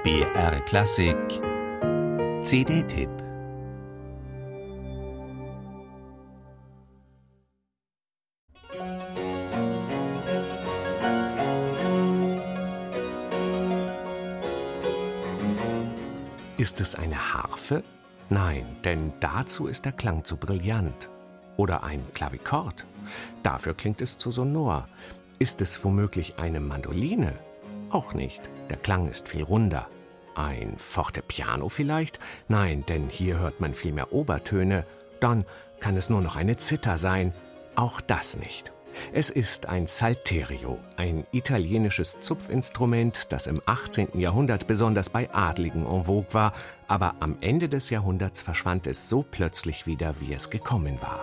BR Klassik CD-Tipp. Ist es eine Harfe? Nein, denn dazu ist der Klang zu brillant. Oder ein Klavichord? Dafür klingt es zu sonor. Ist es womöglich eine Mandoline? Auch nicht, der Klang ist viel runder. Ein Fortepiano vielleicht? Nein, denn hier hört man viel mehr Obertöne. Dann kann es nur noch eine Zither sein. Auch das nicht. Es ist ein Salterio, ein italienisches Zupfinstrument, das im 18. Jahrhundert besonders bei Adligen en vogue war, aber am Ende des Jahrhunderts verschwand es so plötzlich wieder, wie es gekommen war.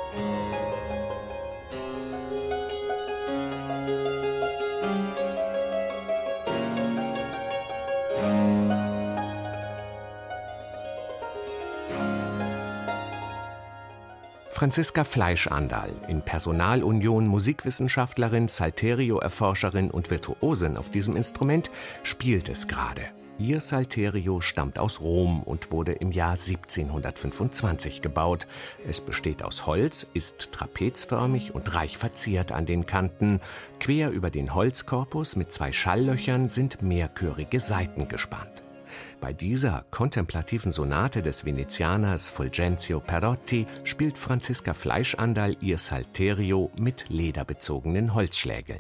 Franziska Fleischandal, in Personalunion Musikwissenschaftlerin, Salterio-Erforscherin und Virtuosin auf diesem Instrument, spielt es gerade. Ihr Salterio stammt aus Rom und wurde im Jahr 1725 gebaut. Es besteht aus Holz, ist trapezförmig und reich verziert an den Kanten. Quer über den Holzkorpus mit 2 Schalllöchern sind mehrchörige Saiten gespannt. Bei dieser kontemplativen Sonate des Venezianers Fulgencio Perotti spielt Franziska Fleischandal ihr Salterio mit lederbezogenen Holzschlägeln.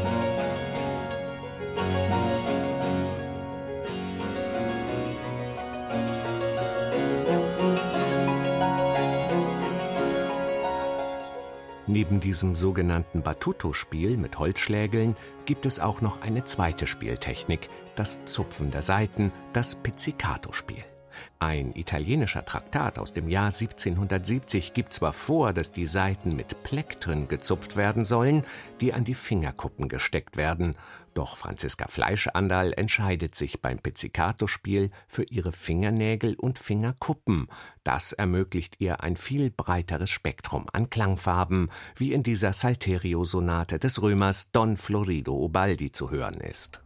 Neben diesem sogenannten Battuto-Spiel mit Holzschlägeln gibt es auch noch eine zweite Spieltechnik, das Zupfen der Saiten, das Pizzicato-Spiel. Ein italienischer Traktat aus dem Jahr 1770 gibt zwar vor, dass die Saiten mit Plektren gezupft werden sollen, die an die Fingerkuppen gesteckt werden. Doch Franziska Fleischandal entscheidet sich beim Pizzicato-Spiel für ihre Fingernägel und Fingerkuppen. Das ermöglicht ihr ein viel breiteres Spektrum an Klangfarben, wie in dieser Salterio-Sonate des Römers Don Florido Ubaldi zu hören ist.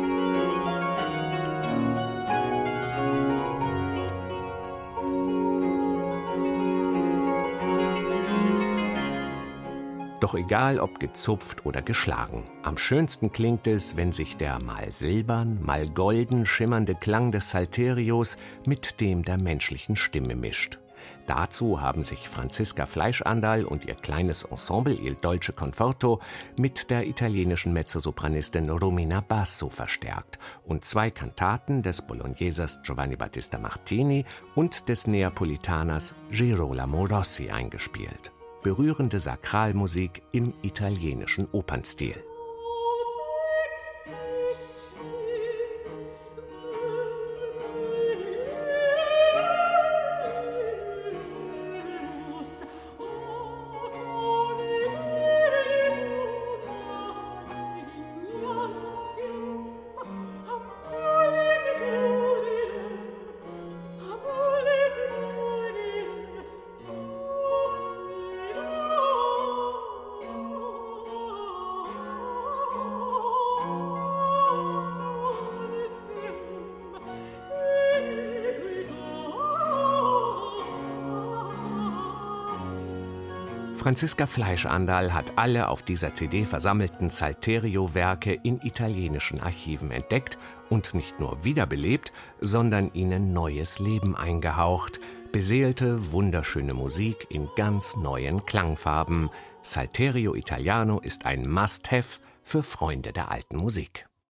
Doch egal, ob gezupft oder geschlagen, am schönsten klingt es, wenn sich der mal silbern, mal golden schimmernde Klang des Salterios mit dem der menschlichen Stimme mischt. Dazu haben sich Franziska Fleischandal und ihr kleines Ensemble Il Dolce Conforto mit der italienischen Mezzosopranistin Romina Basso verstärkt und 2 Kantaten des Bolognesers Giovanni Battista Martini und des Neapolitaners Girolamo Rossi eingespielt. Berührende Sakralmusik im italienischen Opernstil. Franziska Fleischandal hat alle auf dieser CD versammelten Salterio-Werke in italienischen Archiven entdeckt und nicht nur wiederbelebt, sondern ihnen neues Leben eingehaucht. Beseelte, wunderschöne Musik in ganz neuen Klangfarben. Salterio Italiano ist ein Must-Have für Freunde der alten Musik.